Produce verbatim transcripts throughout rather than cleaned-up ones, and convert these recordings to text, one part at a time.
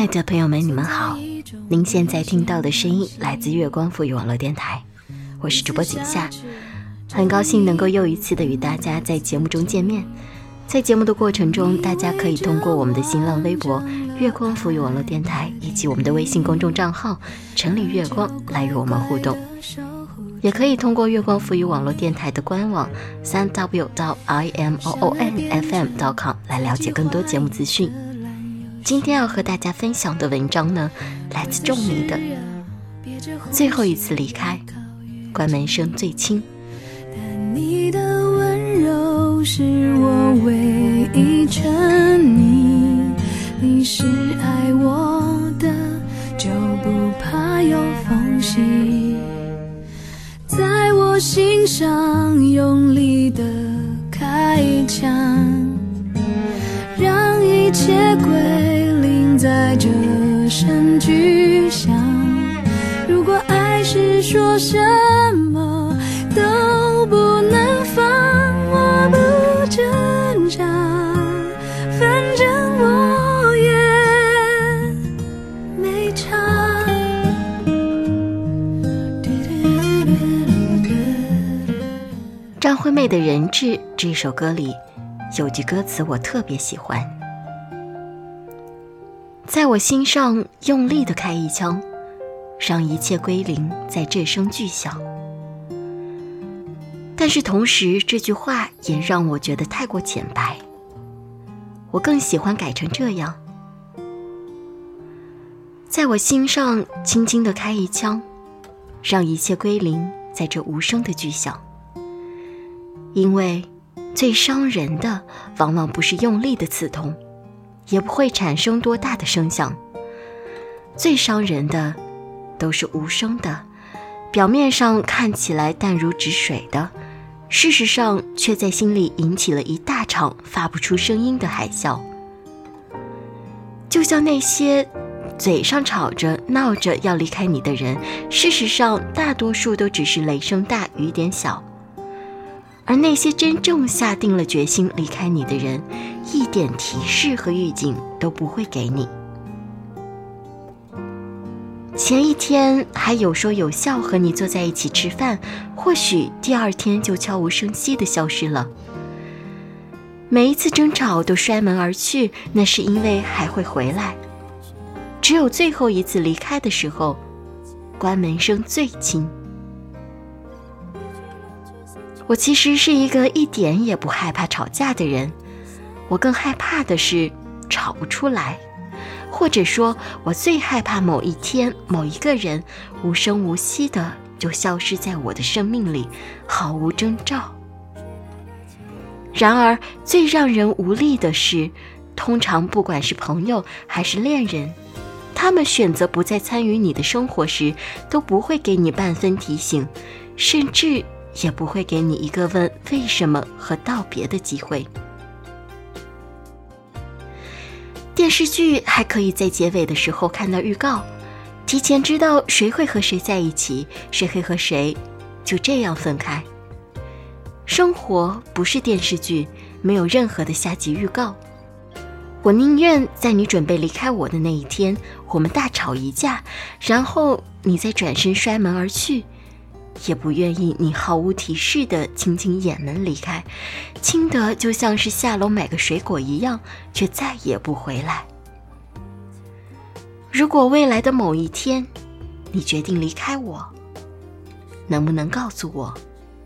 爱的朋友们，你们好，您现在听到的声音来自月光赋予网络电台，我是主播景夏，很高兴能够又一次的与大家在节目中见面。在节目的过程中，大家可以通过我们的新浪微博月光赋予网络电台以及我们的微信公众账号城里月光来与我们互动，也可以通过月光赋予网络电台的官网 三 w 到 i m o o n f m 点 com 来了解更多节目资讯。今天要和大家分享的文章呢，来自仲尼的最后一次离开，关门声最轻。 但你的温柔是我唯一沉溺，你是爱我的，就不怕有缝隙，在我心上用力的开枪，让一切归零在这声巨响。如果爱是说什么都不能放，我不挣扎，反正我也没差。 张惠妹的《人质》这首歌里有句歌词我特别喜欢，在我心上用力地开一枪，让一切归零在这声巨响。但是同时这句话也让我觉得太过浅白，我更喜欢改成这样，在我心上轻轻地开一枪，让一切归零在这无声的巨响。因为最伤人的往往不是用力的刺痛，也不会产生多大的声响，最伤人的都是无声的，表面上看起来淡如止水的，事实上却在心里引起了一大场发不出声音的海啸。就像那些嘴上吵着闹着要离开你的人，事实上大多数都只是雷声大雨点小，而那些真正下定了决心离开你的人，一点提示和预警都不会给你。前一天还有说有笑和你坐在一起吃饭，或许第二天就悄无声息地消失了。每一次争吵都摔门而去，那是因为还会回来。只有最后一次离开的时候，关门声最轻。我其实是一个一点也不害怕吵架的人，我更害怕的是吵不出来，或者说我最害怕某一天某一个人无声无息的就消失在我的生命里，毫无征兆。然而最让人无力的是，通常不管是朋友还是恋人，他们选择不再参与你的生活时，都不会给你半分提醒，甚至也不会给你一个问为什么和道别的机会。电视剧还可以在结尾的时候看到预告，提前知道谁会和谁在一起，谁会和谁就这样分开。生活不是电视剧，没有任何的下集预告。我宁愿在你准备离开我的那一天，我们大吵一架，然后你再转身摔门而去，也不愿意你毫无提示地轻轻掩门离开，轻得就像是下楼买个水果一样，却再也不回来。如果未来的某一天你决定离开我，能不能告诉我？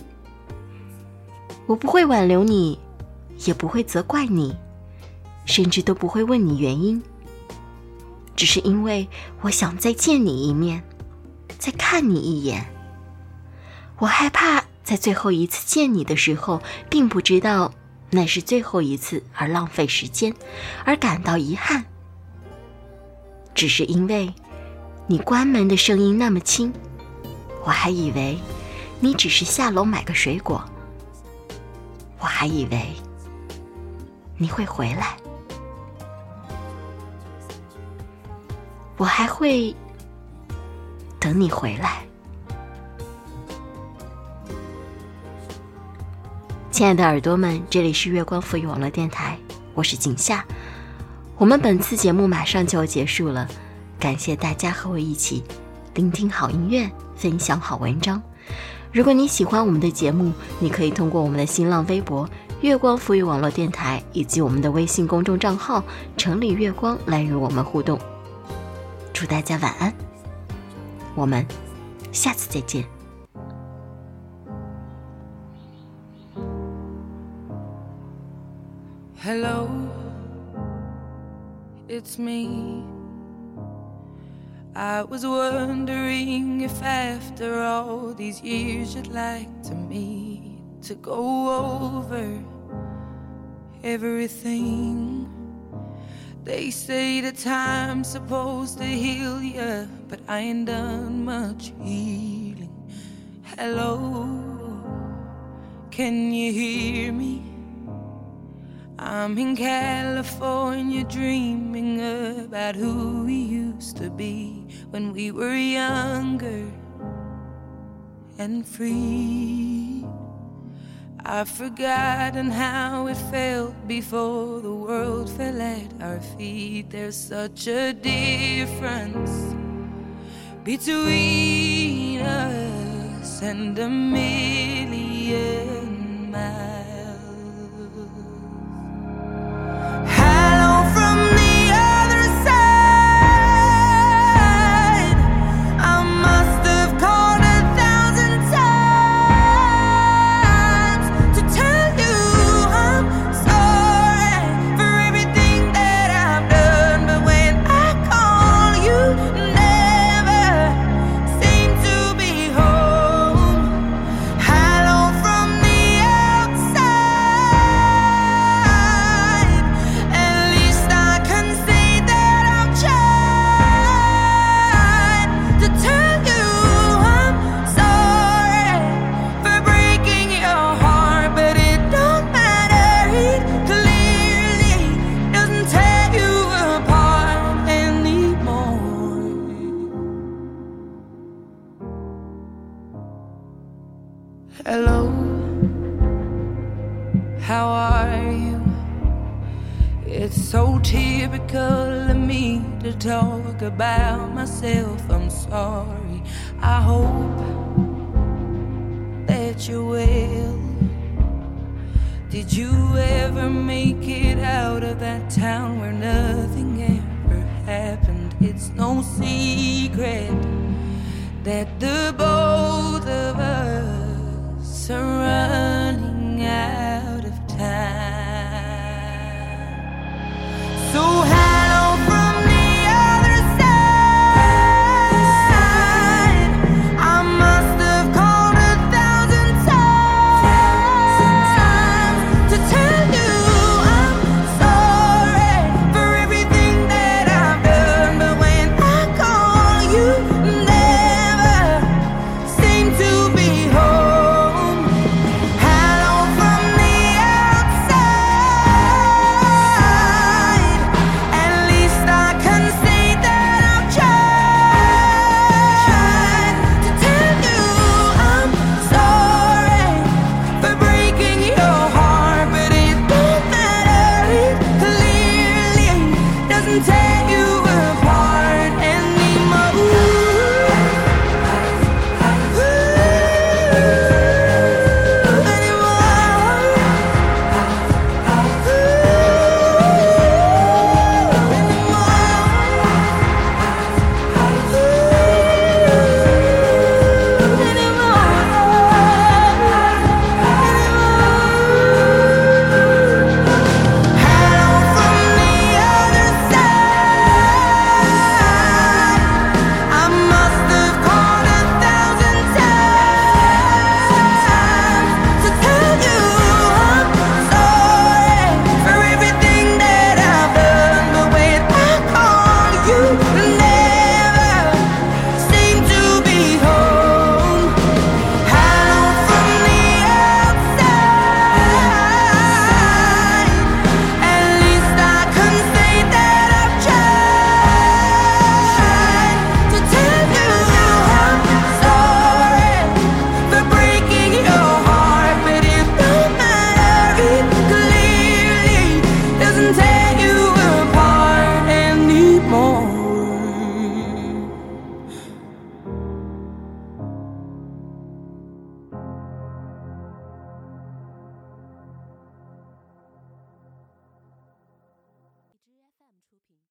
我不会挽留你，也不会责怪你，甚至都不会问你原因，只是因为我想再见你一面，再看你一眼。我害怕在最后一次见你的时候，并不知道那是最后一次而浪费时间，而感到遗憾。只是因为你关门的声音那么轻，我还以为你只是下楼买个水果，我还以为你会回来，我还会等你回来。亲爱的耳朵们，这里是月光赋予网络电台，我是景夏。 我们本次节目马上就要结束了，感谢大家和我一起聆听好音乐，分享好文章。如果你喜欢我们的节目，你可以通过我们的新浪微博月光浮语网络电台以及我们的微信公众账号城里月光来与我们互动。祝大家晚安，我们下次再见。 Hello, it's me. I was wondering if after all these years you'd like to meet to go over everything. They say that time's supposed to heal ya, but I ain't done much healing. Hello, can you hear me? I'm in California dreaming about who we used to be when we were younger and free. I've forgotten how it felt before the world fell at our feet. There's such a difference between us and a million miles. Hello, how are you? It's so typical of me to talk about myself. I'm sorry. I hope that you're well. Did you ever make it out of that town where nothing ever happened? It's no secret that the both of us are